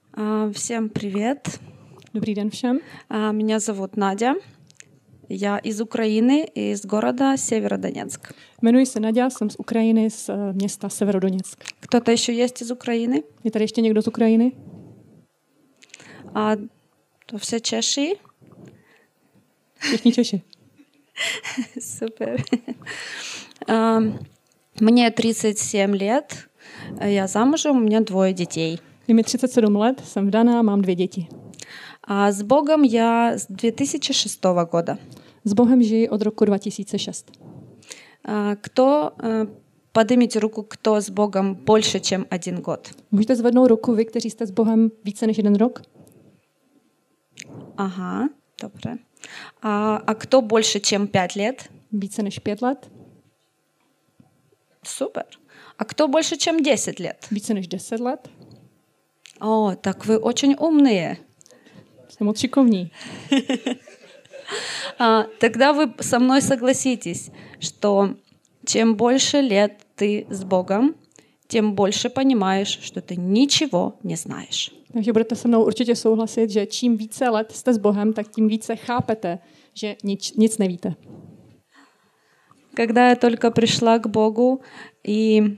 Всем привет. Dobrý den všem. Меня зовут Надя. Я из Украины, из города Северодонецк. Jmenuji se Nadia, jsem z Ukrajiny, z města Severodoněck. Кто-то еще есть из Украины? Je tady ještě někdo z Ukrajiny? То все Чеши. Všichni Češi. Супер. Мне 37 лет. Я замужем, у меня 2 детей. Je mi 37 let, jsem vdaná, mám 2 děti. С Богом я с 2006 года. S Bohem žiji od roku 2006. Поднимите руку, кто с Богом больше, чем 1 год. Můžete zvednout ruku vy, kteří jste s Bohem více než 1 rok? Ага, добре. А кто больше, чем 5 лет? Více než 5 let? Супер. А кто больше, чем 10 лет? Více než 10 let? О, так вы очень умные. Jste moc šikovní. Тогда вы со мной согласитесь, что чем больше лет ты с Богом, тем больше понимаешь, что ты ничего не знаешь. Takže budete se mnou určitě souhlasit, že čím více let jste s Bohem, tak tím více chápete, že nic nevíte. Когда я только пришла к Богу и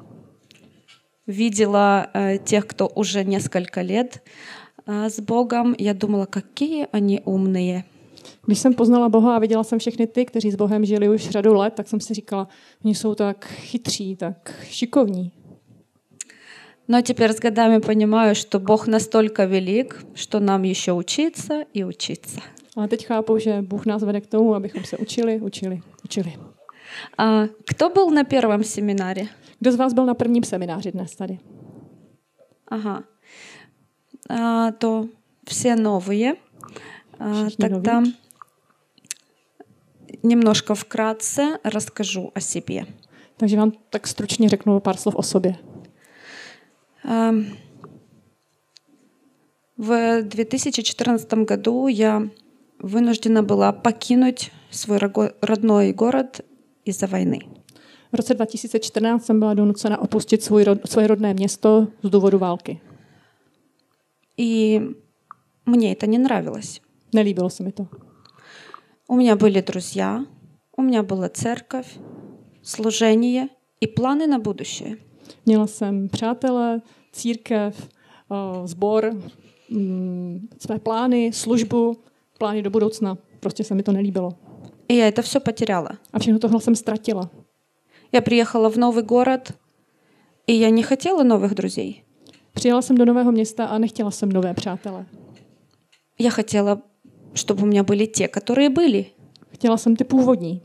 видела тех, кто уже несколько лет с Богом, я думала, какие они умные. Když jsem poznala Boha a viděla jsem všechny ty, kteří s Bohem žili už řadu let, tak jsem si říkala, oni jsou tak chytří, tak šikovní. Но теперь с годами понимаю, что Бог настолько велик, что нам еще учиться и учиться. Ale teď chápu, že Bůh nás vede k tomu, abychom se učili. Кто был на первом семинаре? Kdo z vás byl na prvním semináři dnes tady? Ага. То все новые. Тогда немножко вкратце расскажу о себе. Takže vám tak stručně řeknu pár slov o sobě. В 2014 году я вынуждена была покинуть свой родной город из-за войны. V roce 2014 jsem byla donucena opustit svoje rodné město z důvodu války. И мне это не нравилось. Nelíbilo se mi to. У меня были друзья, у меня была церковь, служение и планы на будущее. Měla jsem přátele, církev, sbor, své plány, službu, plány do budoucna. Prostě se mi to nelíbilo. И я это все потеряла. A všechno tohle jsem ztratila. Я приехала в новый город, и я не хотела новых друзей. Přijela jsem do nového města a nechtěla jsem nové přátele. Я хотела, чтобы у меня были те, которые были. Chtěla jsem ty původní.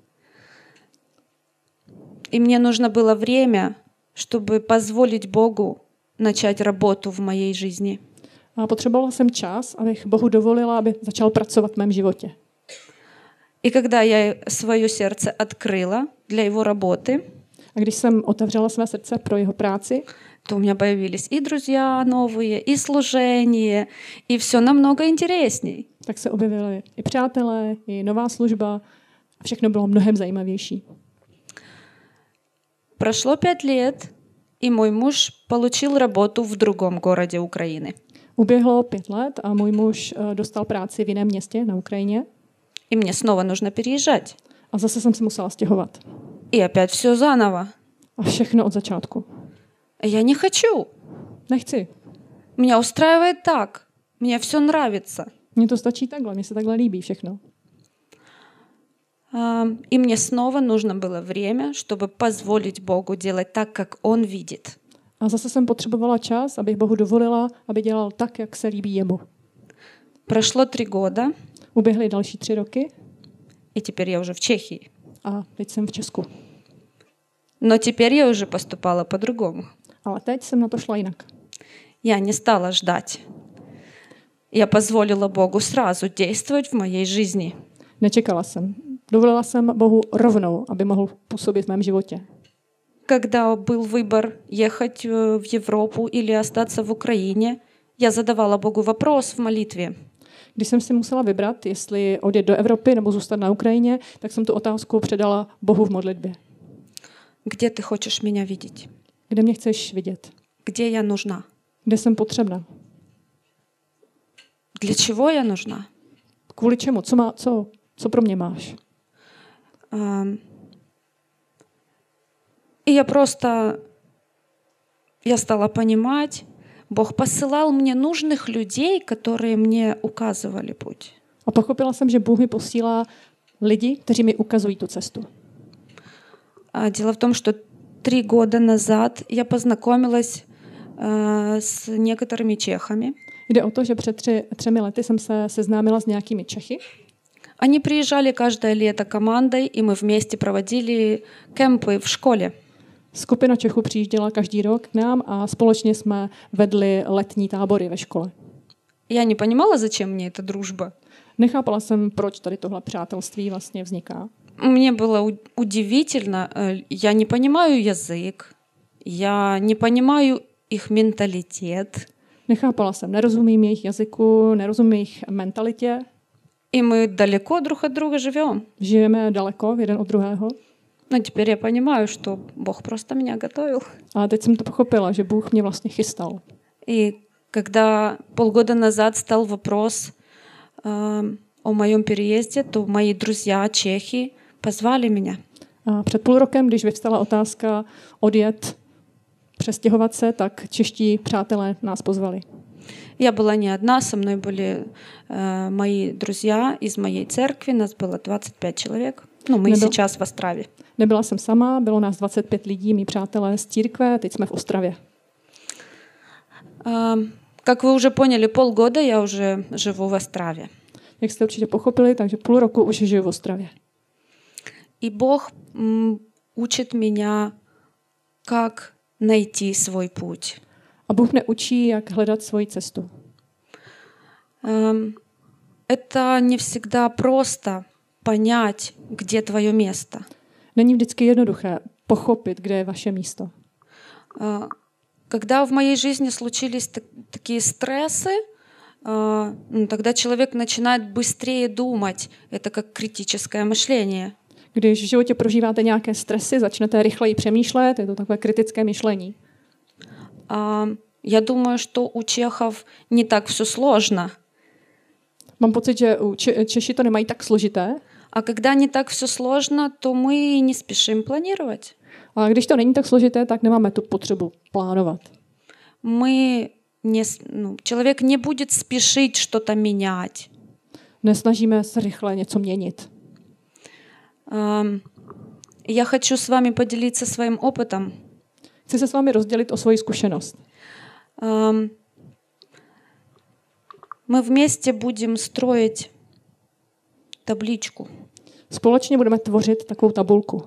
И мне нужно было время, чтобы позволить Богу начать работу в моей жизни. A potřebovala jsem čas, abych Bohu dovolila, aby začal pracovat v mém životě. И когда я свое сердце открыла для его работы, a když jsem otevřela své srdce pro jeho práci, то у меня появились и друзья новые, и служение, и все намного интересней. Tak se objevili i přátelé, i nová služba a všechno bylo mnohem zajímavější. Прошло 5 лет, и мой муж получил работу в другом городе Украины. Uběhlo 5 let a můj muž dostal práci v jiném městě na Ukrajině. И мне снова нужно переезжать. A zase jsem se musela stěhovat. И опять все заново. A všechno od začátku. Я не хочу. Nechci. Меня устраивает так. Мне все нравится. Mně to stačí takhle, mně se takhle líbí všechno. И мне снова нужно было время, чтобы позволить Богу делать так, как Он видит. A zase jsem potřebovala čas, abych Bohu dovolila, aby dělal tak, jak se líbí jemu. Прошло 3 года. Uběhly další 3 roky. И теперь я уже в Чехии. A teď jsem v Česku. Но теперь я уже поступала по-другому. Ale teď jsem na to šla jinak. Я не стала ждать. Я позволила Богу сразу действовать в моей жизни. Nečekala jsem. Dovolila jsem Bohu rovnou, aby mohl působit v mém životě. Когда был выбор ехать в Европу или остаться в Украине, я задавала Богу вопрос в молитве. Když jsem si musela vybrat, jestli odjet do Evropy nebo zůstat na Ukrajině, tak jsem tu otázku předala Bohu v modlitbě. Где ты хочешь меня видеть? Kde mě chceš vidět? Где я нужна? Kde jsem potřebná? Для чего я нужна? Kvůli čemu? Co pro mě máš? И я stala понимать, Бог посылал мне нужных людей, которые мне указывали путь. A pochopila jsem, že Bůh mi posílá lidi, kteří mi ukazují tu cestu. Дело в том, что 3 года назад я познакомилась с некоторыми чехами. Jde o to, že před 3 lety jsem se seznámila s nějakými Čechy. Они приезжали каждое лето командой, и мы вместе проводили кемпы в школе. Skupina Čechů přijížděla každý rok k nám a společně jsme vedli letní tábory ve škole. Я не понимала, зачем мне эта дружба. Nechápala jsem, proč tady tohle přátelství vlastně vzniká. Мне было удивительно. Я не понимаю язык, я не понимаю их менталитет. Nechápala jsem, nerozumím jejich jazyku, nerozumím jejich mentalitě. И мы далеко друг от друга живем. Žijeme daleko jeden od druhého. Но теперь я понимаю, что Бог просто меня готовил. A teď jsem to pochopila, že Bůh mě vlastně chystal. И когда полгода назад стал вопрос о моем переезде, то мои друзья чехи позвали меня. A před půl rokem, když vyvstala otázka odjet, přestěhovat se, tak čeští přátelé nás pozvali. Я была не одна, со мной были мои друзья из моей церкви, нас было 25 человек. Ну, мы сейчас в Острове. Nebyla jsem sama, bylo nás 25 lidí, mý přátelé z církve, teď jsme v Ostravě. Как вы уже поняли, полгода я уже живу в Острове. Jak jste určitě pochopili, takže půl roku už žiju v Ostravě. И Бог учит меня, как найти свой путь. A Bůh mě učí, jak hledat svoji cestu. Это не всегда просто понять, где твое место. Není vždycky jednoduché pochopit, kde je vaše místo. Когда в моей жизни случились такие стрессы, тогда человек начинает быстрее думать. Это как критическое мышление. Když v životě prožíváte nějaké stresy, začnete rychleji přemýšlet, je to takové kritické myšlení. Я думаю, что у чехов не так все сложно. Mám pocit, že Češi to nemají tak složité. А когда не так все сложно, то мы не спешим планировать. A když to není tak složité, tak nemáme tu potřebu plánovat. Человек не будет спешить что-то менять. Nesnažíme se rychle něco měnit. Я хочу с вами поделиться своим опытом. Chci se s vámi rozdělit o svoji zkušenost. Мы вместе будем строить табличку. Společně budeme tvořit takovou tabulku.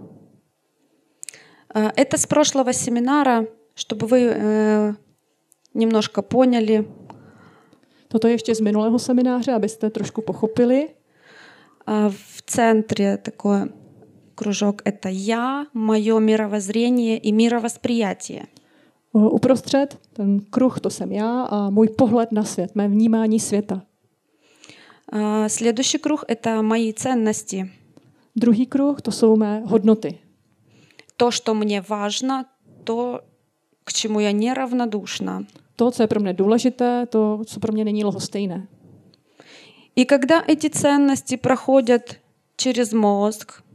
Это с прошлого семинара, чтобы вы немножко поняли. Toto je ještě z minulého semináře, abyste trošku pochopili. В центре такой кружок — это я, мое мировоззрение и мировосприятие. Uprostřed ten kruh, to jsem já a můj pohled na svět, mé vnímání světa. Следующий круг — это мои ценности. Druhý kruh, to jsou mé hodnoty. То, что мне важно, то, к чему я неравнодушна. To, co je pro mě důležité, to, co pro mě není lhostejné. И когда эти ценности проходят через мозг,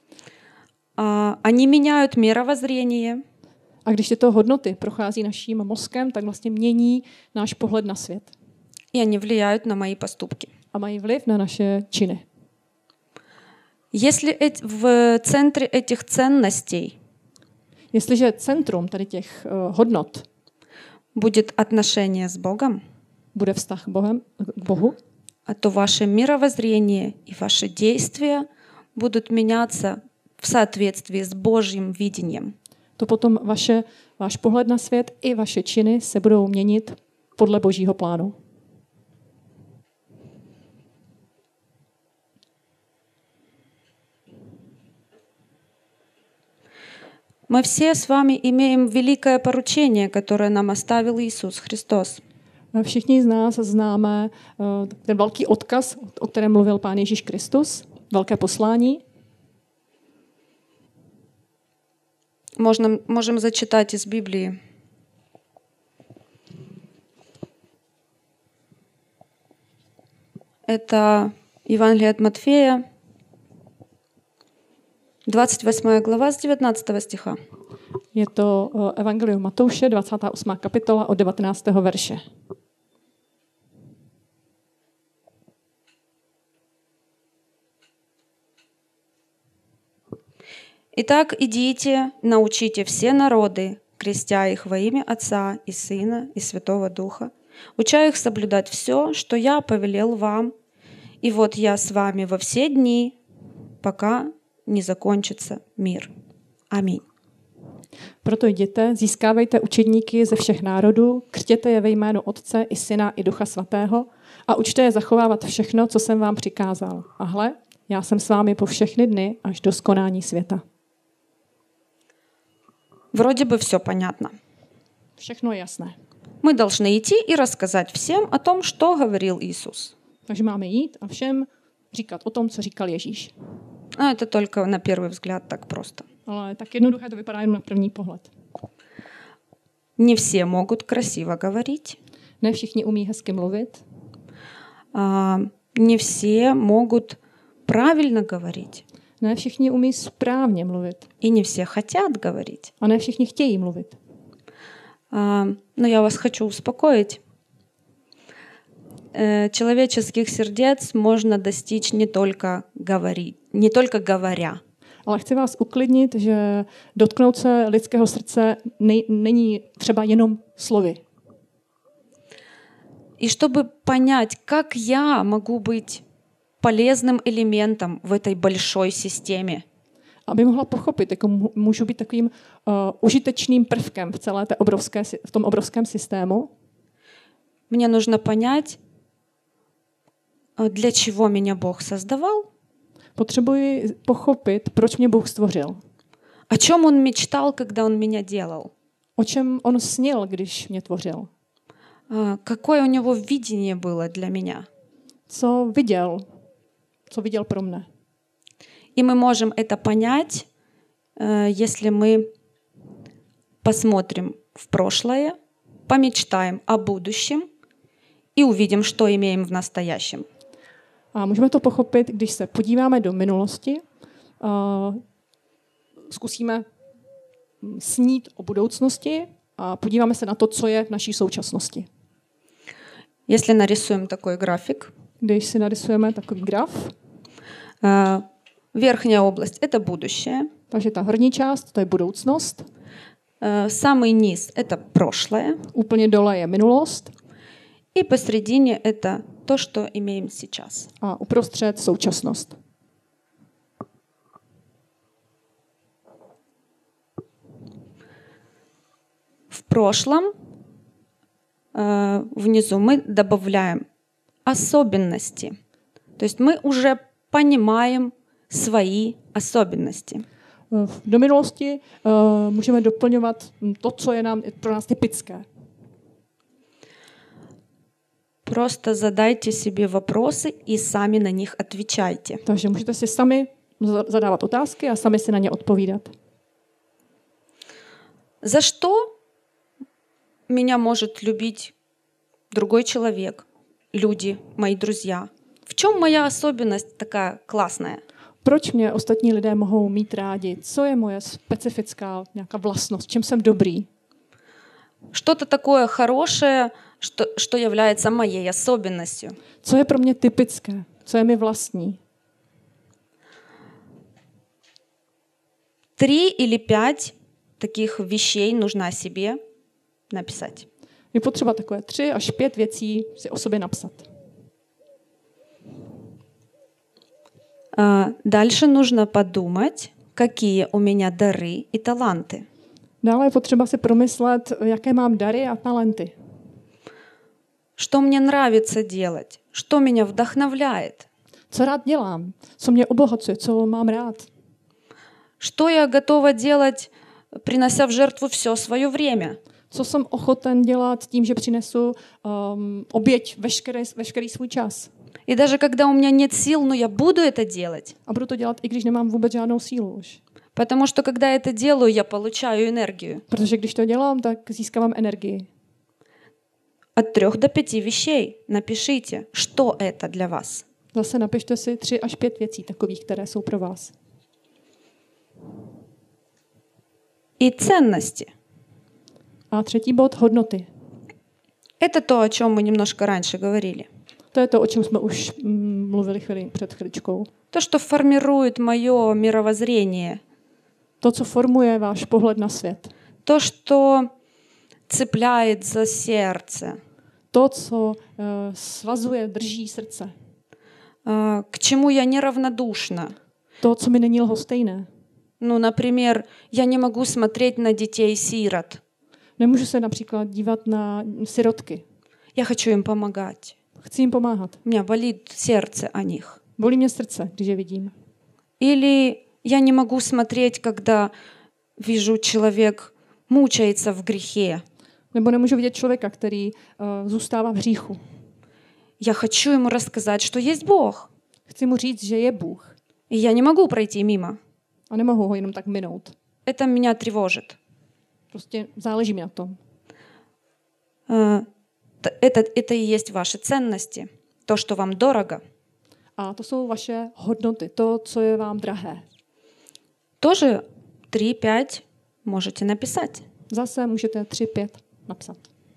они меняют мировоззрение. A když tyto hodnoty prochází naším mozkem, tak vlastně mění náš pohled na svět. И они влияют на мои поступки. A mají vliv na naše činy. Если в центре этих ценностей Jestliže centrum tady těch hodnot будет отношение с Богом, bude vztah k Bohu, то ваше мировоззрение и ваши действия будут меняться в соответствии с Божьим видением. To potom váš pohled na svět i vaše činy se budou měnit podle Božího plánu. Мы все с вами имеем великое поручение, которое нам оставил Иисус Христос. Všichni z nás známe ten velký odkaz, o kterém mluvil Pán Ježíš Kristus, velké poslání. Можем зачитать из Библии. Это Евангелие от Матфея, 28 глава с 19 стиха. Je to Evangelium Matouše, 28. kapitola od 19. verše. «Итак, идите, научите все народы, крестя их во имя Отца и Сына и Святого Духа, уча их соблюдать все, что я повелел вам, и вот я с вами во все дни, пока не закончится мир. Аминь». Proto jděte, získávejte učedníky ze všech národů, křtěte je ve jménu Otce i Syna i Ducha Svatého a učte je zachovávat všechno, co jsem vám přikázal. A hle, já jsem s vámi po všechny dny až do skonání světa. Вроде бы все понятно. Všechno je jasné. Мы должны идти и рассказать всем о том, что говорил Иисус. Takže máme jít a všem říkat o tom, co říkal Ježíš. А это только на первый взгляд так просто. Ale tak jednoduché to vypadá jen na první pohled. Не все могут красиво говорить. Ne všichni umí hezky mluvit. Не все могут правильно говорить. Ne všichni umí správně mluvit. И не все хотят говорить. A ne všichni chtějí mluvit. Но я вас хочу успокоить. Человеческих сердец можно достичь не только говоря. Ale chci vás uklidnit, že dotknout se lidského srdce není třeba jenom slovy. И чтобы понять, как я могу быть полезным элементом в этой большой системе. Aby mohla pochopit, jako můžu být takovým užitečným prvkem v tom obrovském systému. Мне нужно понять, для чего меня Бог создавал. Potřebuji pochopit, proč mě Bůh stvořil. О чем Он мечтал, когда Он меня делал. O čem on snil, když mě tvořil. Какое у него видение было для меня. Co viděl pro mne. И мы можем это понять, если мы посмотрим в прошлое, помечтаем о будущем и увидим, что имеем в настоящем. A můžeme to pochopit, když se podíváme do minulosti, zkusíme snít o budoucnosti a podíváme se na to, co je v naší současnosti. Если нарисуем такой график, Když si narysujeme takový graf, верхняя область — это будущее, takže ta horní část, to je budoucnost, самый низ — это прошлое, úplně dole je minulost и посредине — это то, что имеем сейчас. a uprostřed současnost. В прошлом внизу мы добавляем особенности. То есть мы уже понимаем свои особенности. Do minulosti můžeme doplňovat to, co je pro nás typické. Просто задайте себе вопросы и сами на них отвечайте. Takže můžete si sami zadávat otázky a sami si na ně odpovídat. За что меня может любить другой человек, люди, мои друзья? В чем моя особенность такая классная? Proč mě ostatní lidé mohou mít rádi? Co je moje specifická nějaká vlastnost? Čem jsem dobrý? Что-то такое хорошее, что является моей особенностью. Co je pro mě typické? Co je mi vlastní? 3 или 5 таких вещей нужно о себе написать. Je potřeba takové 3 až 5 věcí si o sobě napsat. Дальше нужно подумать, какие у меня дары и таланты. Dále je potřeba si promyslet, jaké mám dary a talenty. Что мне нравится делать, что меня вдохновляет. Co rád dělám, co mě obohacuje, co mám rád. Что я готова делать, принося в жертву все свое время. Co jsem ochoten dělat tím, že přinesu oběť veškerý svůj čas. И даже когда у меня нет сил, но я буду это делать. A budu to dělat, i když nemám vůbec žádnou sílu už. Потому что когда я это делаю, я получаю энергию. Protože když to dělám, tak získávám energii. от 3 до 5 вещей. Напишите, что это для вас. Zase napište si 3 až 5 věcí takových, které jsou pro vás. И ценности. A třetí bod, hodnoty. Это то, о чем мы немножко раньше говорили. To je to, o čem jsme už mluvili před chviličkou. То, что формирует мое мировоззрение. To, co formuje váš pohled na svět. То, что цепляет за сердце. To, co svazuje, drží srdce. К чему я неравнодушна. To, co mi není lhostejné. Ну, например, я не могу смотреть на детей-сирот. Nemůžu se například dívat na sirotky. Я хочу им помогать. Chci jim pomáhat. У меня болит сердце о них. Bolí mě srdce, když je vidím. Или я не могу смотреть, когда вижу, человек мучается в грехе. Nebo nemůžu vidět člověka, který zůstává v hříchu. Я хочу ему рассказать, что есть Бог. Chci mu říct, že je Bůh. И я не могу пройти мимо. A nemohu ho jenom tak minout. Это меня тревожит. Prostě záleží mi na tom. Это и есть ваши ценности. То, что вам дорого. A to jsou vaše hodnoty, to, co je vám drahé. Тоже 3-5 можете написать. Zase můžete 3-5 napsat.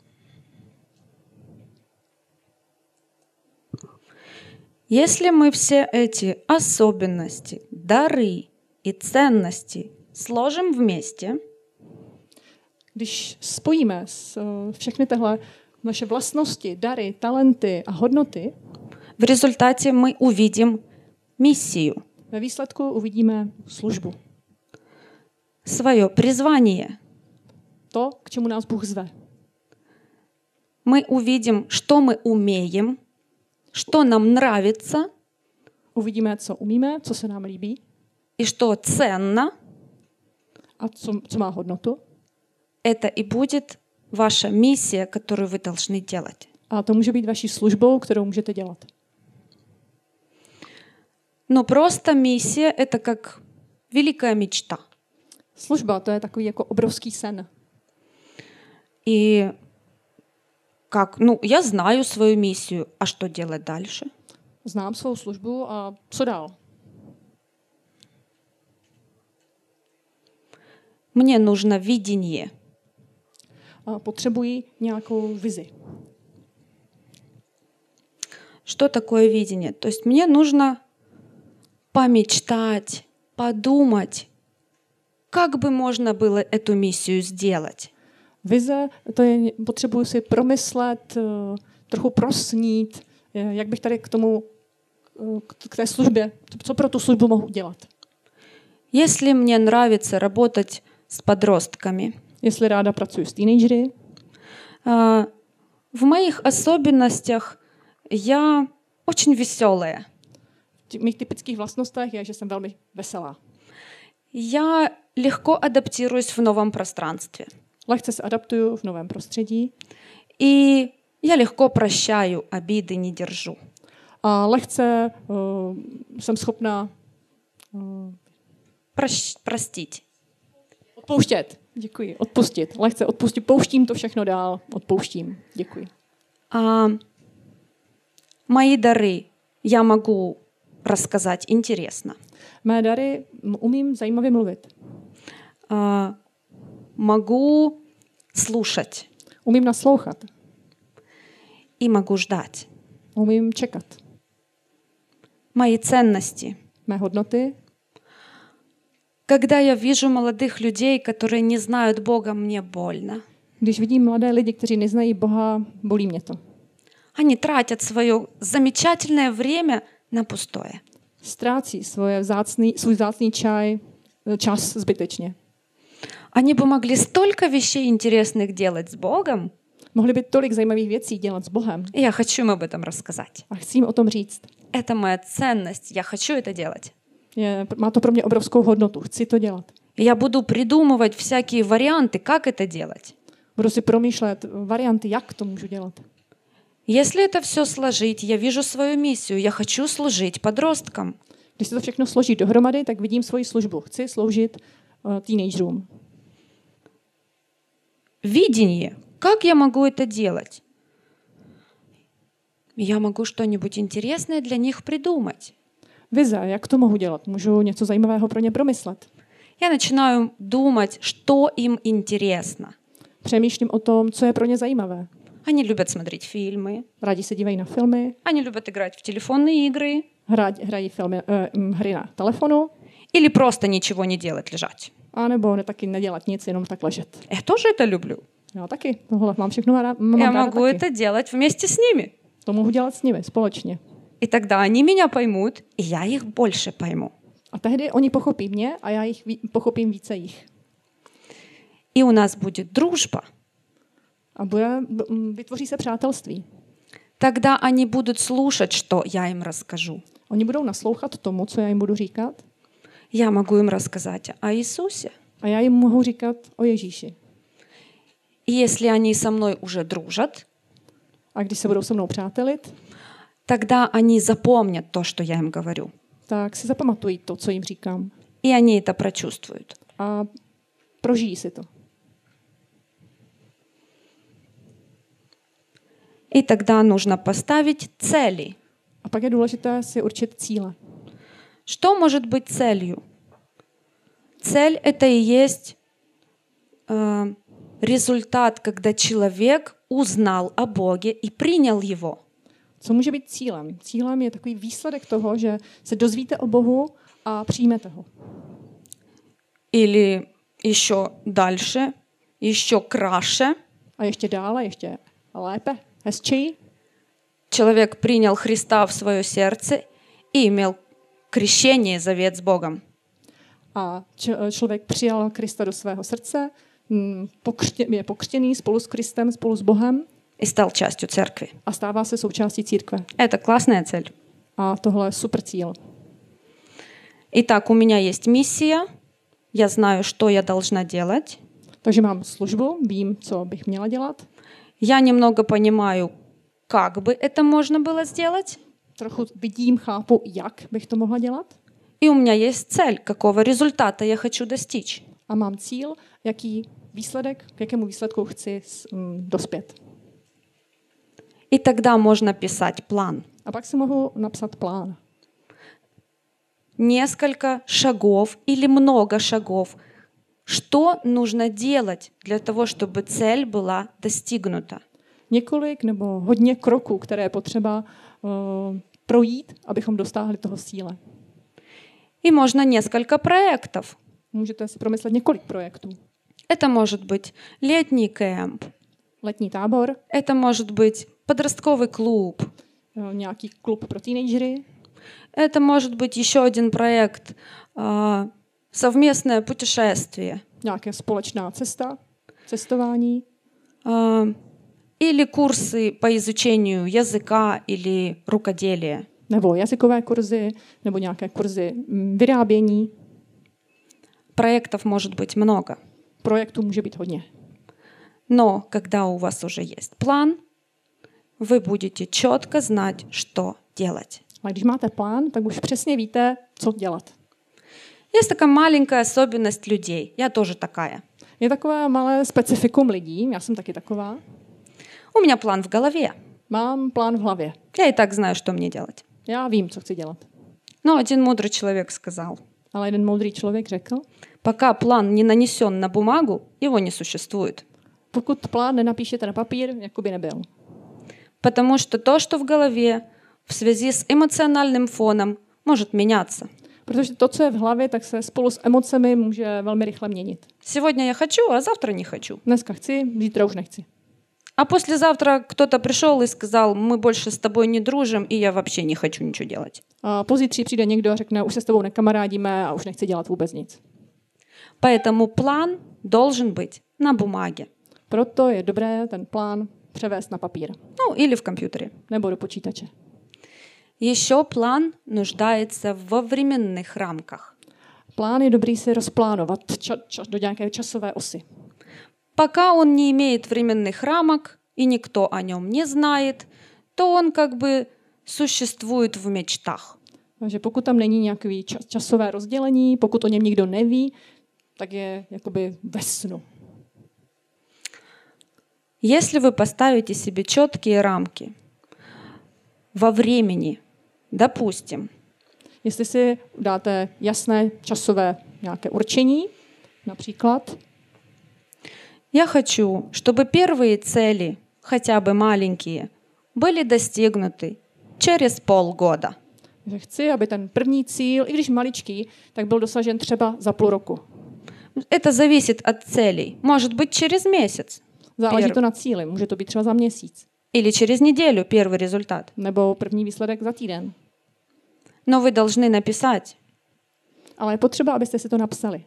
Если мы все эти особенности, дары и ценности сложим вместе, když spojíme všechny tyhle naše vlastnosti, dary, talenty a hodnoty, в результате мы увидим миссию, ve výsledku uvidíme službu. свое призвание. To, k čemu nás Bůh zve. Мы увидим, что мы умеем, что нам нравится Uvidíme, co umíme, co se nám líbí и что ценно. a co má hodnotu. Это и будет ваша миссия, которую вы должны делать. A to může být vaší službou, kterou můžete dělat. Но просто миссия — это как великая мечта. Služba, to je takový jako obrovský sen. И как, я знаю свою миссию, а что делать дальше? Znám svou službu a co dál? Мне нужно видение. A potřebuji nějakou vizi. Что такое видение? То есть мне нужно помечтать, подумать, как бы можно было эту миссию сделать. Vize, to je, potřebuji si promyslet, trochu prosnít, jak bych tady k té službě, co pro tu službu mohu dělat. Если мне нравится работать с подростками, Jestli ráda pracuji s teenagery, в моих особенностях я очень веселая. v mých typických vlastnostech je, že jsem velmi veselá. Я легко адаптируюсь в новом пространстве. Lehce se adaptuju v novém prostředí. И я легко прощаю, обиды не держу. A lehce jsem schopná Простить. odpouštět. Děkuji. Odpustit. Lehce odpustit. Pouštím to všechno dál. Odpouštím. Děkuji. Мои дары я могу рассказать интересно. Mé dary umím zajímavě mluvit. Могу слушать. Umím naslouchat. И могу ждать. Umím čekat. Мои ценности. Mé hodnoty. Когда я вижу молодых людей, которые не знают Бога, мне больно. Když vidím mladé lidi, kteří neznají Boha, bolí mě to. Они тратят свое замечательное время на пустое. Ztrácí svůj vzácný čas zbytečně. Они бы могли столько вещей интересных делать с Богом. Mohli by tolik zajímavých věcí dělat s Bohem. И я хочу им об этом рассказать. A chci jim o tom říct. Это моя ценность, я хочу это делать. Má to pro mě obrovskou hodnotu. Chci to dělat. Я буду придумывать всякие варианты, как это делать. Budu si promýšlet varianty, jak to můžu dělat. Если это все сложить, я вижу свою миссию. Я хочу служить подросткам. Když se to všechno složí dohromady, tak vidím svoji službu. Chci sloužit teenagerům. Видение. Как я могу это делать? Я могу что-нибудь интересное для них придумать. Vize, jak to mohu dělat? Můžu něco zajímavého pro ně promyslet. Я начинаю думать, что им интересно. Přemýšlím o tom, co je pro ně zajímavé. Они любят смотреть фильмы, Rádi se dívají na filmy, они любят играть в телефонные игры hrají hry na telefonu, или просто ничего не делать, лежать. anebo taky nedělat nic, jenom tak ležet. Я тоже это люблю. Já taky. Tohle mám všechno Я ráda могу taky. это делать вместе с ними. To mohu dělat s nimi společně. И тогда они меня поймут, и я их больше пойму. A tehdy oni pochopí mě a já pochopím více jich. И у нас будет дружба. A vytvoří se přátelství. Тогда они будут слушать, что я им расскажу. Oni budou naslouchat tomu, co já jim budu říkat. Я могу им рассказать о Иисусе. A já jim mohu říkat o Ježíši. И если они со мной уже дружат, A když se budou se mnou přátelit, тогда они запомнят то, что я им говорю. tak si zapamatují to, co jim říkám. И они это прочувствуют. A prožijí si to. И тогда нужно поставить цели. A pak je důležité si určit cíle. Что может быть целью? Цель — это и есть результат, когда человек узнал о Боге и принял Его. Co může být cílem? Cílem je takový výsledek toho, že se dozvíte o Bohu a přijmete ho. Или еще дальше, еще краше. A ještě dále, ještě lépe, hezčí. Человек принял Христа в свое сердце и имел крещение, завет с Богом. A člověk přijal Krista do svého srdce, je pokřtěný spolu s Kristem, spolu s Bohem. И стал частью церкви. A stává se součástí církve. Это классная цель. A tohle je super cíl. Итак, у меня есть миссия. Я знаю, что я должна делать. Takže mám službu, vím, co bych měla dělat. Я немного понимаю, как бы это можно было сделать. Trochu vidím, chápu, jak bych to mohla dělat. И у меня есть цель, какого результата я хочу достичь. A mám cíl, k jakému výsledku chci dospět. И тогда можно писать план. A pak si mohu napsat plán. Несколько шагов или много шагов. Что нужно делать для того, чтобы цель была достигнута? Několik nebo hodně kroků, které je potřeba projít, abychom dostáhli toho cíle. И можно несколько проектов. Můžete si promyslet několik projektů. Это может быть летний кемп. Letní tábor, Это может быть подростковый клуб. nějaký klub pro teenagery, Это может быть еще один проект совместное путешествие. nějaká společná cestování, или курсы по изучению языка или рукоделия. nebo jazykové kurzy, nebo nějaké kurzy vyrábění. Проектов может быть много. Projektů může být hodně. Но когда у вас уже есть план, вы будете четко знать, что делать. A když máte plán, tak už přesně víte, co dělat. Есть такая маленькая особенность людей. Я тоже такая. Je takové malé specifikum lidí, já jsem taky taková. У меня план в голове. Mám plán v hlavě. Я и так знаю, что мне делать. Já vím, co chci dělat. Но один мудрый человек сказал, Ale jeden moudrý člověk řekl, пока план не нанесен на бумагу, его не существует. pokud plán nenapíšete na papír, jako by nebyl. Потому что то, что в голове, в связи с эмоциональным фоном, может меняться. Protože to, co je v hlavě, tak se spolu s emocemi může velmi rychle měnit. Сегодня я хочу, а завтра не хочу. Dneska chci, zítra už nechci. А послезавтра кто-то пришел и сказал, мы больше с тобой не дружим, и я вообще не хочу ничего делать. A pozítří přijde někdo a řekne, už se s tebou nekamarádíme a už nechci dělat vůbec nic. Поэтому план должен быть на бумаге. Proto je dobré ten plán převést na papír. Ну, или в компьютере. Nebo do počítače. Еще план нуждается во временных рамках. Plán je dobrý si rozplánovat do nějaké časové osy. Пока он не имеет временных рамок, и никто о нем не знает, то он как бы существует в мечтах. Takže pokud tam není nějaké časové rozdělení, pokud o něm nikdo neví, tak je jakoby ve snu. Если вы поставите себе четкие рамки, во времени, допустим, Jestli si dáte jasné časové nějaké určení, například, я хочу, чтобы первые цели, хотя бы маленькие, были достигнуты через полгода. že chci, aby ten první cíl, i když maličký, tak byl dosažen třeba za půl roku. Это зависит от целей. Может быть, через месяц. Záleží to na cíli, může to být třeba za měsíc, Или через неделю первый результат. nebo první výsledek za týden. Но вы должны написать. Ale je potřeba, abyste si to napsali.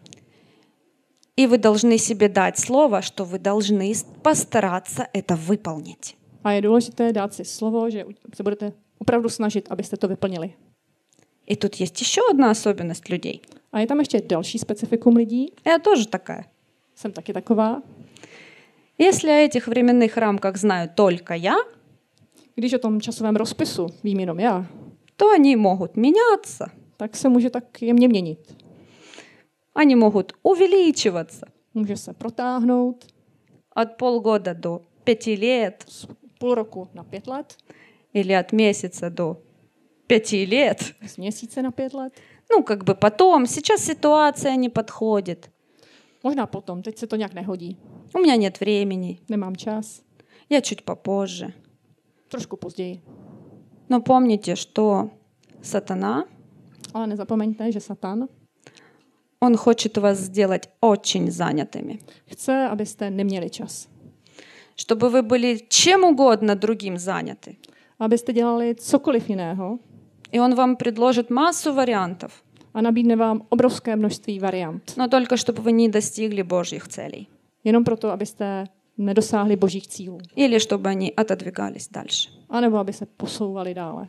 И вы должны себе дать слово, что вы должны постараться это выполнить. A je důležité dát si slovo, že se budete opravdu snažit, abyste to vyplnili. И тут есть еще одна особенность людей. A je tam ještě další specifikum lidí. Я тоже такая. Jsem taky taková. Если о этих временных рамках знаю только я, Když o tom časovém rozpisu vím jenom já, то они могут меняться. tak se může tak jemně měnit. Они могут увеличиваться Může se protáhnout от полгода до 5 лет z půl roku na 5 let, или от месяца до 5 лет. z měsíce na 5 let. Ну, как бы потом. Сейчас ситуация не подходит. Možná potom, teď se to nějak nehodí. У меня нет времени. Nemám čas. Я чуть попозже. Trošku později. Но помните, что сатана, Ale nezapomeňte, že Satan он хочет вас сделать очень занятыми. chce, abyste neměli čas. Чтобы вы были чем угодно другим заняты. Abyste dělali cokoliv jiného И он вам предложит массу вариантов. a nabídne vám obrovské množství variant. Но только чтобы вы не достигли Божьих целей. Jenom proto, abyste nedosáhli božích cílů. Или чтобы они отодвигались дальше. A nebo aby se posouvali dále.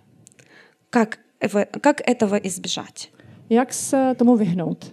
Как этого избежать? Jak se tomu vyhnout?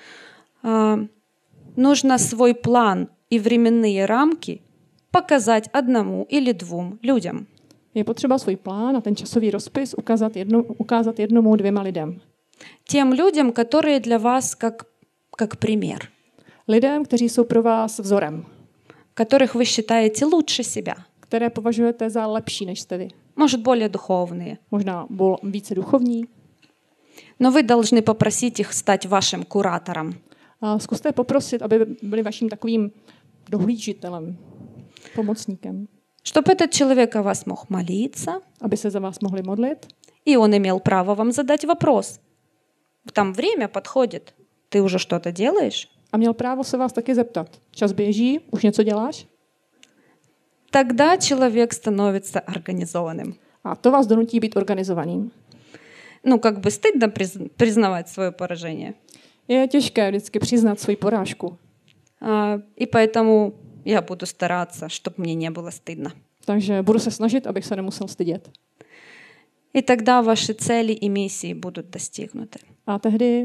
Нужно свой план и временные рамки показать одному или двум людям. Je potřeba svůj plán a ten časový rozpis ukázat jednomu, 2 lidem. Тем людям, которые для вас как пример. Lidem, kteří jsou pro vás vzorem. Которых вы считаете лучше себя. Které považujete za lepší než jste vy. Может, более духовные. Možná více duchovní. Но вы должны попросить их стать вашим куратором. A zkuste poprosit, aby byli vaším takovým dohlížitelem, pomocníkem. Чтобы этот человек о вас мог молиться. Aby se za vás mohli modlit. И он имел право вам задать вопрос. Там время подходит. Ты уже что-то делаешь? A měl právo se vás taky zeptat. Čas běží, už něco děláš? Тогда человек становится организованным. A to vás donutí být organizovaným. Ну, как бы стыдно признавать свое поражение. Je těžké vždycky přiznat svoji porážku. И поэтому я буду стараться, чтобы мне не было стыдно. Takže budu se snažit, abych se nemusel stydět. И тогда ваши цели и миссии будут достигнуты. A tehdy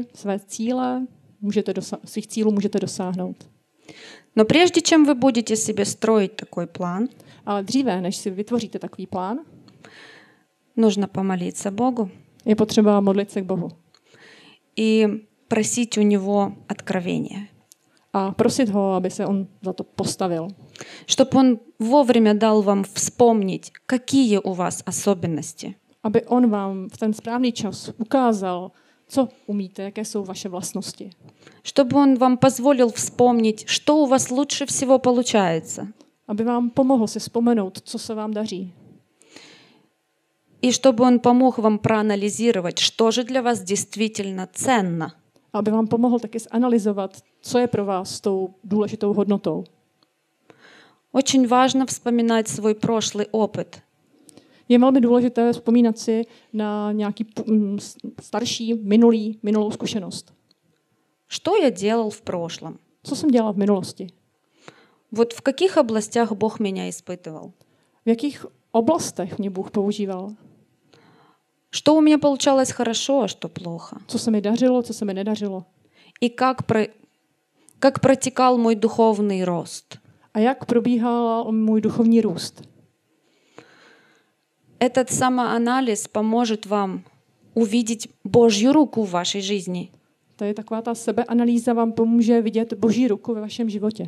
svých cílů můžete dosáhnout. Но прежде чем вы будете себе строить такой план, Ale dříve, než si vytvoříte takový plán, нужно помолиться Богу je potřeba modlit se k Bohu. И просить у Него откровения. A prosit ho, aby se on za to postavil. Чтобы Он вовремя дал вам вспомнить, какие у вас особенности. Aby on vám v ten správný čas ukázal, co umíte, jaké jsou vaše vlastnosti. Чтобы Он вам позволил вспомнить, что у вас лучше всего получается. Aby vám pomohl si vzpomenout, co se vám daří. И чтобы Он помог вам проанализировать, что же для вас действительно ценно. Aby vám pomohl taky zanalyzovat, co je pro vás tou důležitou hodnotou. Очень важно вспоминать свой прошлый опыт. Je velmi důležité vzpomínat si na nějaký starší, minulou zkušenost. Что я делал в прошлом? Co jsem dělal v minulosti? Вот в каких областях Бог меня испытывал? V jakých oblastech mě Bůh používal? Что у меня получалось хорошо, а что плохо? Co se mi dařilo, co se mi nedařilo? И как протекал мой духовный рост? A jak probíhal můj duchovní růst? Этот самоанализ поможет вам увидеть Божью руку в вашей жизни. To je taková ta sebeanalýza, vám pomůže vidět Boží ruku ve vašem životě.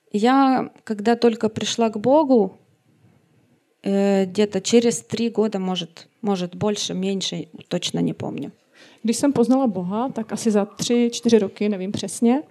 Я, когда только пришла к Богу, где-то через 3 года, может больше, меньше, точно не помню. Když jsem poznala Boha, tak asi za 3-4 roky, nevím přesně,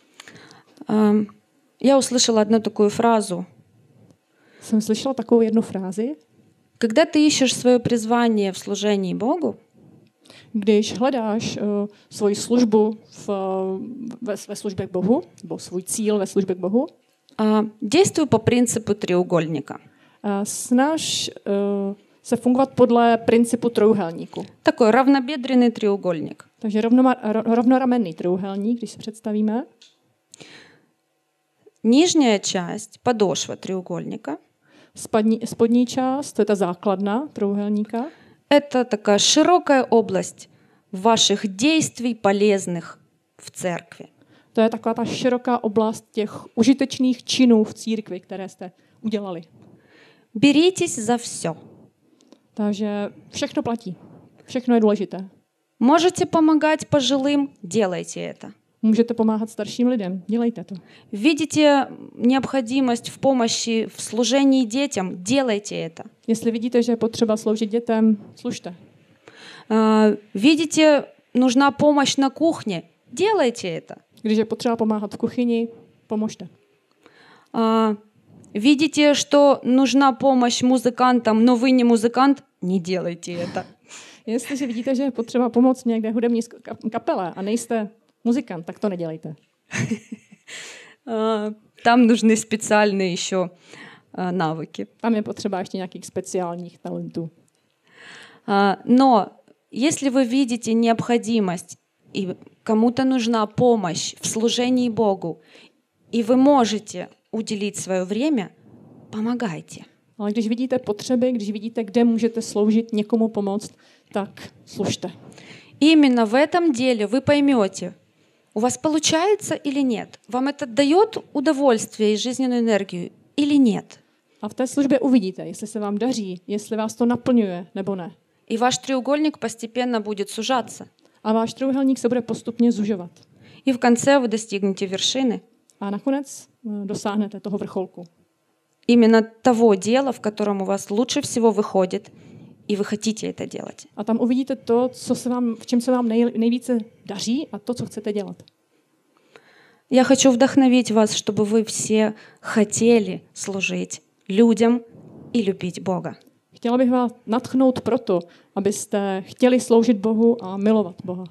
Я услышала одну такую фразу. jsem slyšela takovou jednu frázi. Когда ты ищешь свое призвание в служении Богу, Když hledáš svoji službu ve službě k Bohu, nebo svůj cíl ve službě k Bohu, действуй по принципу треугольника. Snaž se fungovat podle principu trojúhelníku. Такой равнобедренный треугольник. Takže rovnoramenný trojúhelník, když si představíme. Нижняя часть, подошва треугольника. Spodní část, to je ta základna trojúhelníka. Это такая широкая область ваших действий, полезных в церкви. To je taková ta široká oblast těch užitečných činů v církvi, které jste udělali. Беритесь за все. Takže všechno platí. Všechno je důležité. Можете помогать пожилым, делайте это. Můžete pomáhat starším lidem, dělejte to. Видите необходимость в помощи в служении детям, делайте это. Jestli vidíte, že je potřeba sloužit dětem, služte. Видите, нужна помощь на кухне, делайте это. Když je potřeba pomáhat v kuchyni, pomožte. Видите, что нужна помощь музыкантам, но вы не музыкант, не делайте это. Jestliže vidíte, že je potřeba pomoct někde hudební kapele a nejste muzikant, tak to nedělejte. Там нужны специальные еще навыки. Tam je potřeba ještě nějakých speciálních talentů. Но если вы видите необходимость и кому-то нужна помощь в служении Богу, и вы можете уделить свое время, помогайте. Ale když vidíte potřeby, když vidíte, kde můžete sloužit, někomu pomoct, tak služte. Именно в этом деле вы поймете, у вас получается или нет. Вам это дает удовольствие и жизненную энергию или нет. A v té službě uvidíte, jestli se vám daří, jestli vás to naplňuje nebo ne. И ваш треугольник постепенно будет сужаться. A váš trojúhelník se bude postupně zužovat. И в конце вы достигнете вершины. A nakonec dosáhnete toho vrcholku. Именно того дела, в котором у вас лучше всего выходит, и вы хотите это делать. A tam uvidíte to, v čem se vám nejvíce daří a to, co chcete dělat. Я хочу вдохновить вас, чтобы вы все хотели служить людям и любить Бога. Chtěla bych vás nadchnout proto, abyste chtěli sloužit Bohu a milovat Boha.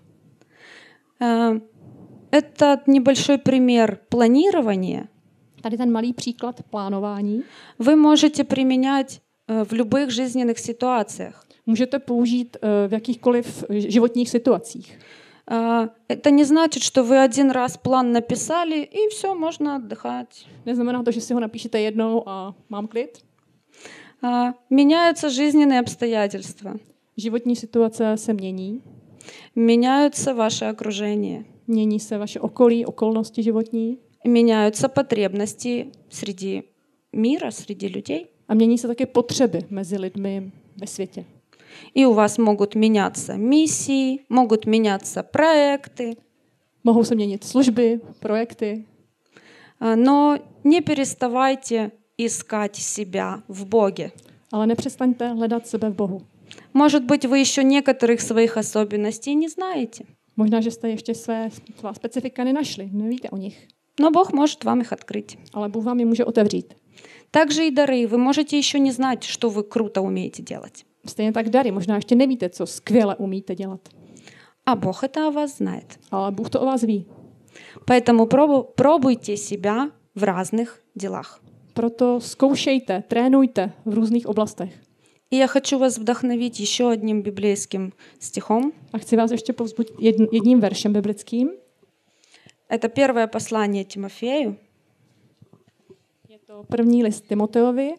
Это небольшой пример планирования. Tady ten malý příklad plánování. Вы можете применять в любых жизненных ситуациях. Můžete použít v jakýchkoliv životních situacích. Это не значит, что вы один раз план написали и все, можно отдыхать. Neznamená to, že si ho napíšete jednou a mám klid. Меняются жизненные обстоятельства. Životní situace se mění. Меняются ваше окружение. Mění se vaše okolí, okolnosti životní. Меняются потребности среди мира, среди людей. A mění se také potřeby mezi lidmi ve světě. И у вас могут меняться миссии, могут меняться проекты. Mohou se měnit služby, projekty. Но не переставайте искать себя в Боге. Ale nepřestaňte hledat sebe v Bohu. Может быть, вы еще некоторых своих особенностей не знаете. Možná, že jste ještě svá specifika nenašli, nevíte o nich. Но Бог может вам их открыть. Ale Bůh vám je může otevřít. Также и дары. Вы можете еще не знать, что вы круто умеете делать. Stejně tak dary. Možná ještě nevíte, co skvěle umíte dělat. А Бог это о вас знает. Ale Bůh to o vás ví. Поэтому пробуйте себя в разных делах. Proto zkoušejte, trénujte v různých oblastech. И я хочу вас вдохновить еще одним библейским стихом. A chci vás ještě povzbudit jedním veršem biblickým. Это первое послание Тимофею. Je to první list Timoteovi.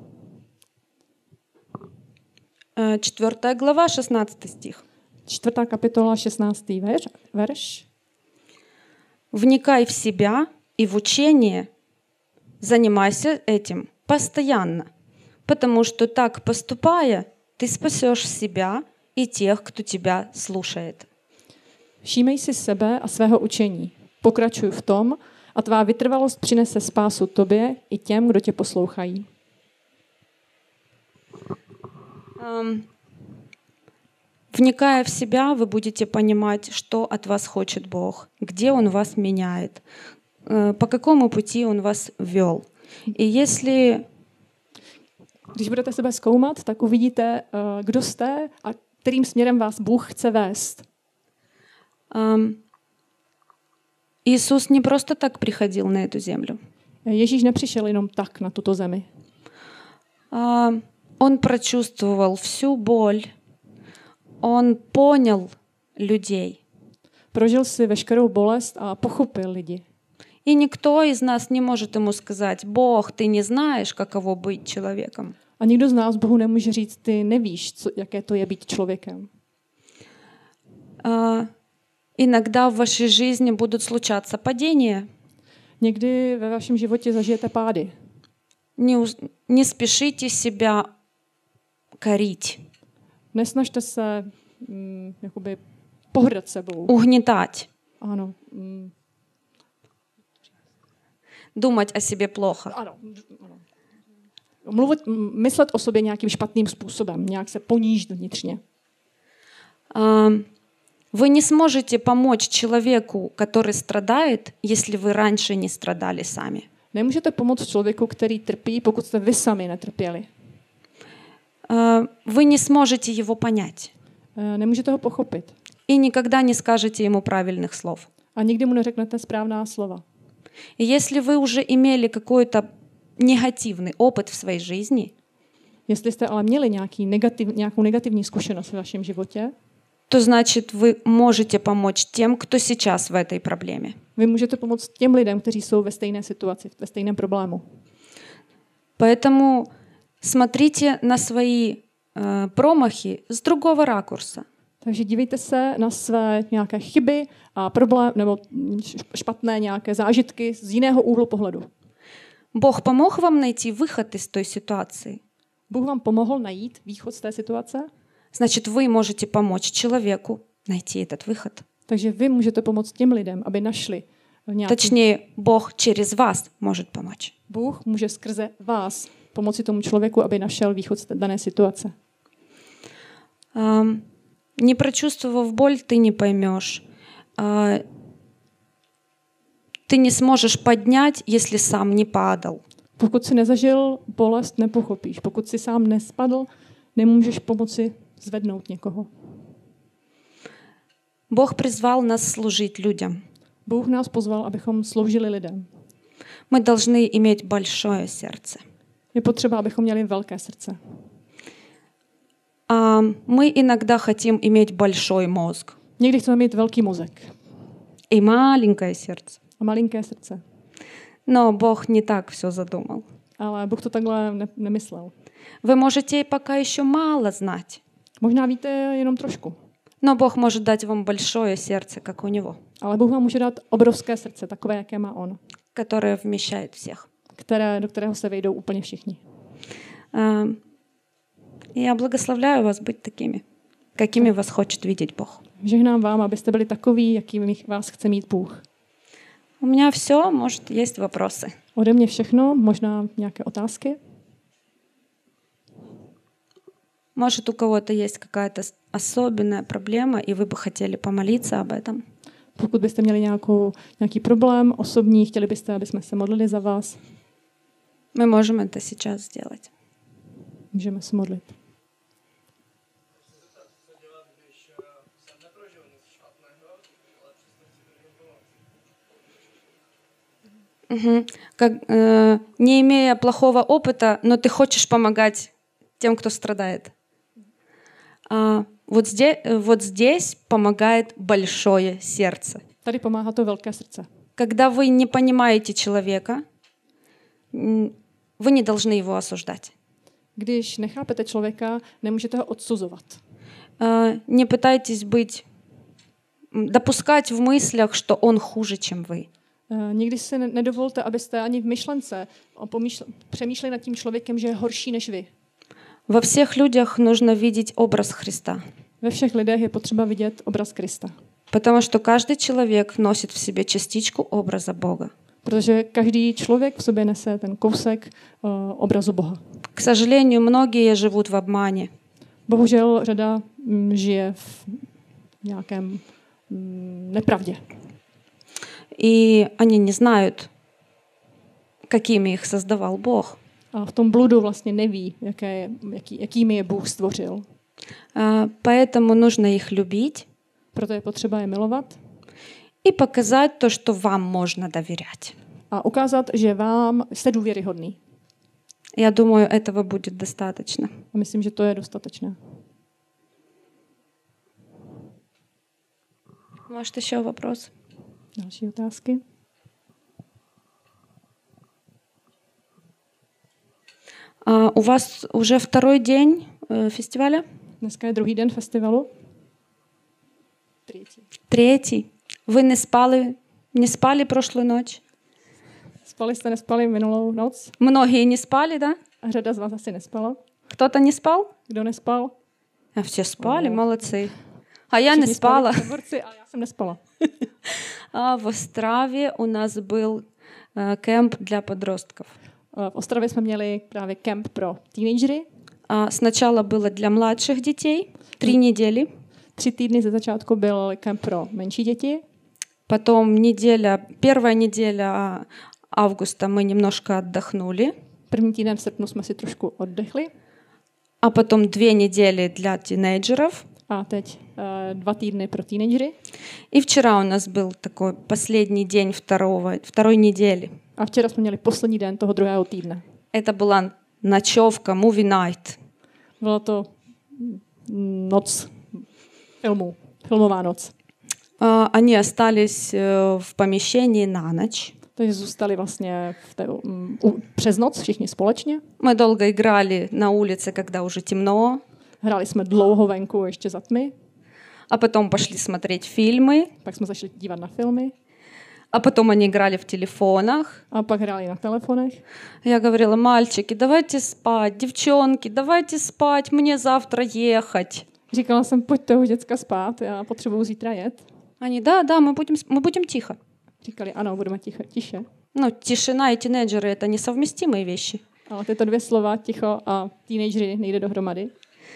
4 глава, 16 стих. 4. kapitola, 16. verš. Вникай в себя и в учение, занимайся этим постоянно, потому что так поступая, ты спасешь себя и тех, кто тебя слушает. Všímej si sebe a svého učení. Pokračuj v tom a tvá vytrvalost přinese spásu tobě i těm, kdo tě poslouchají. Вникая в себя, вы будете понимать, что от вас хочет Бог, где Он вас меняет, по какому пути Он вас вел. И если... Když budete sebe zkoumat, tak uvidíte, kdo jste a kterým směrem vás Bůh chce vést. Иисус не просто так приходил на эту землю. Ježíš nepřišel jenom tak na tuto zemi. Он прочувствовал всю боль. Он понял людей. Prožil si veškerou bolest a pochopil lidi. И никто из нас не может ему сказать: Бог, ты не знаешь, каково быть человеком. A nikdo z nás Bohu nemůže říct, ty nevíš, jaké to je být člověkem. Иногда в вашей жизни будут случаться падения. Někdy ve vašem životě zažijete pády. Не спешите себя корить. Nesnažte se jakoby pohrdat sebou. Угнетать. Ano. Думать о себе плохо. Ano. Myslet o sobě nějakým špatným způsobem, nějak se ponížit vnitřně. Вы не сможете помочь человеку, который страдает, если вы раньше не страдали сами. Nemůžete pomoct člověku, který trpí, pokud jste vy sami netrpěli. Вы не сможете его понять. Nemůžete ho pochopit. И никогда не скажете ему правильных слов. A nikdy mu neřeknete správná slova. И если вы уже имели какой-то негативный опыт в своей жизни, jestli jste ale měli nějakou negativní zkušenost v vašem životě, то значит, вы можете помочь тем, кто сейчас в этой проблеме. Vy můžete pomoct těm lidem, kteří jsou ve stejné situaci, ve stejném problému. Поэтому смотрите на свои промахи с другого ракурса. Takže dívejte se na své nějaké chyby a problém nebo špatné nějaké zážitky z jiného úhlu pohledu. Бог помог вам найти выход из той ситуации. Bůh vám pomohl najít východ z té situace? Значит, вы можете помочь человеку найти этот выход. Takže vy můžete pomoct těm lidem, aby našli nějaký... Точнее, Бог через вас может помочь. Bůh může skrze vás pomoci tomu člověku, aby našel východ z dané situace. Не прочувствовав боль, ты не поймешь. Ты не сможешь поднять, если сам не падал. Pokud si nezažil bolest, nepochopíš. Pokud si sám nespadl, nemůžeš pomoci zvednout někoho. Бог призвал нас служить людям. Bůh nás pozval, abychom sloužili lidem. Мы должны иметь большое сердце. Je potřeba, abychom měli velké srdce. Мы иногда хотим иметь большой мозг. Někdy chceme mít velký mozek. И маленькое сердце. A malinké srdce. Но Бог не так все задумал. Ale Bůh to takhle nemyslel. Вы можете пока еще мало знать. Možná víte jenom trošku. Но Бог может дать вам большое сердце, как у Него. Ale Bůh vám může dát obrovské srdce, takové, jaké má on. Которое вмещает всех. Do kterého se vejdou úplně všichni. Я благословляю вас быть такими, какими вас хочет видеть Бог. Žehnám vám, abyste byli takoví, jakými vás chce mít Bůh. У меня все, может, есть вопросы. Ode mě všechno, možná nějaké otázky. Может, у кого-то есть какая-то особенная проблема, и вы бы хотели помолиться об этом. Pokud byste měli nějaký problém osobní, chtěli byste, aby jsme se modlili za vás. Мы можем это сейчас сделать. Můžeme se modlit. Не имея плохого опыта, но ты хочешь помогать тем, кто страдает. Вот здесь помогает большое сердце. Tady pomáhá to velké srdce. Когда вы не понимаете человека, вы не должны его осуждать. Když nechápete člověka, nemůžete ho odsuzovat. Не пытайтесь допускать в мыслях, что он хуже, чем вы. Nikdy si nedovolte, abyste ani v myšlence přemýšleli nad tím člověkem, že je horší než vy. Во всех людях нужно видеть образ Христа. Ve všech lidech je potřeba vidět obraz Krista. Потому что каждый человек носит в себе частичку образа Бога. Protože každý člověk v sobě nese ten kousek obrazu Boha. К сожалению, многие живут в обмане. Bohužel řada žije v nějakém nepravdě. И они не знают, какими их создавал Бог. A v tom bludu vlastně neví, jakými je Bůh stvořil. Поэтому нужно их любить Proto je potřeba je milovat и показать то, что вам можно доверять. a ukázat, že vám jste důvěryhodný. Я думаю, этого будет достаточно. A myslím, že to je dostatečné. Может, еще вопрос? Další otázky? У вас уже второй день фестиваля? Dneska je druhý den festivalu. Третий. Вы не спали прошлую ночь? Spali jste, nespali minulou noc? Многие не спали, да? A řada z vás asi nespala. Кто-то не спал? Kdo nespal? А все спали, молодцы. А я не Všichni спала. spali, borci, a já jsem nespala. В Острове у нас был кемп для подростков. V Ostravě jsme měli právě kemp pro teenagery. Сначала было для младших детей 3 недели. 3 týdny ze začátku byl kemp pro menší děti. Потом первая неделя августа мы немножко отдохнули. První týden v srpnu jsme si trošku oddechli. А потом 2 недели для тинейджеров. A teď 2 týdny pro teenagery. И вчера у нас был такой последний день второй недели. A včera jsme měli poslední den toho druhého týdne. Это была ночевка, movie night. Byla to noc filmová noc. Они остались в помещении на ночь. Takže zůstali vlastně přes noc všichni společně. Мы долго играли на улице, когда уже темно. Hráli jsme dlouho venku ještě za tmy. А потом пошли смотреть фильмы. Pak jsme zašli dívat na filmy. А потом они играли в телефонах. A pak hráli na telefonech. Я говорила: мальчики, давайте спать, девчонки, давайте спать, мне завтра ехать. Říkala jsem, pojďte už děcka spát, já potřebuju zítra jet. Они: да, мы будем тихо. Říkali, ano, budeme tiše. Ну, тишина и тинейджеры — это несовместимые вещи. Ale tyto 2 slova, ticho a teenagery, nejde dohromady.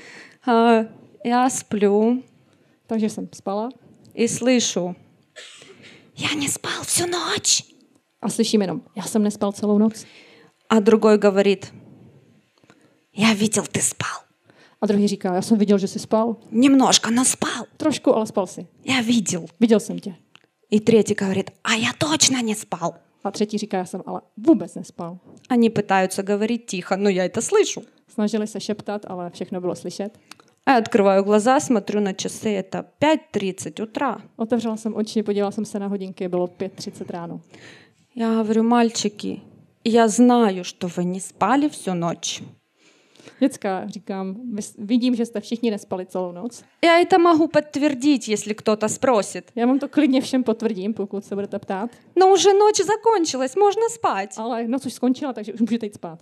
Я сплю. Takže jsem spala. И слышу: я не спал всю ночь. A slyším jenom, já jsem nespal celou noc. А другой говорит: я видел, ты спал. A druhý říká, já jsem viděl, že jsi spal. Немножко, но спал. Trošku, ale spal si. Я видел. Viděl jsem tě. И третий говорит: а я точно не спал. A třetí říká, já jsem ale vůbec nespal. Они пытаются говорить тихо, но я это слышу. Snažili se šeptat, ale všechno bylo slyšet. Я открываю глаза, смотрю на часы, это 5:30 утра. Otevřela jsem oči, podívala jsem se na hodinky, bylo 5:30 ráno. Я говорю: мальчики, я знаю, что вы не спали всю ночь. Děcka, říkám, vidím, že jste všichni nespali celou noc. Я это могу подтвердить, если кто-то спросит. Já vám to klidně všem potvrdím, pokud se budete ptát. Но уже ночь закончилась, можно спать. Ale noc už skončila, takže už můžete jít spát.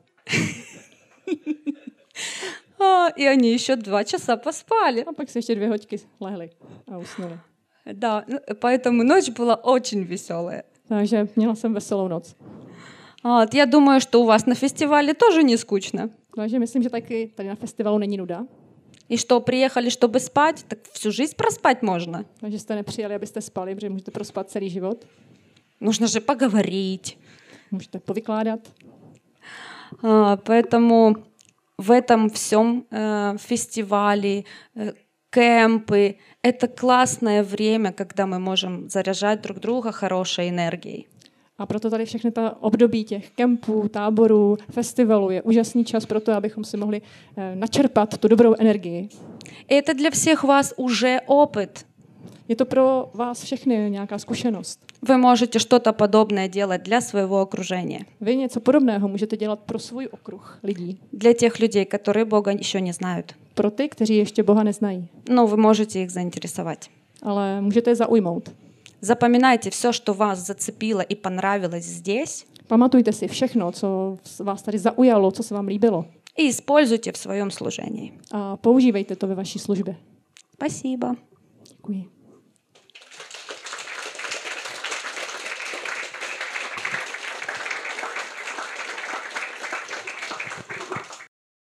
И они еще 2 часа поспали. A pak se ještě 2 hodiny lehli a usnuli. Да, поэтому ночь была очень веселая. Takže měla jsem veselou noc. Я думаю, что у вас на фестивале тоже не скучно. Takže myslím, že taky tady na festivalu není nuda. И что, приехали, чтобы спать, так всю жизнь проспать можно. Takže jste nepřijeli, abyste spali, protože můžete prospat celý život. Нужно же поговорить. Můžete povykládat. Поэтому в этом всем фестивале, кемпы — это классное время, когда мы можем заряжать друг друга хорошей энергией. A proto tady všechny ta období těch kempů, táborů, festivalů je úžasný čas pro to, abychom si mohli načerpat tu dobrou energii. Это для всех вас уже опыт. Je to pro vás všechny nějaká zkušenost. Вы можете что-то подобное делать для своего окружения. Vy něco podobného můžete dělat pro svůj okruh lidí. Для тех людей, которые Бога еще не знают. Pro ty, kteří ještě Boha neznají. Но вы можете их заинтересовать. Ale můžete je zaujmout. Запоминайте все, что вас зацепило и понравилось здесь. Pamatujte si všechno, co vás tady zaujalo, co se vám líbilo. И используйте в своем служении. A používejte to ve vaší službě. Спасибо. Děkuji.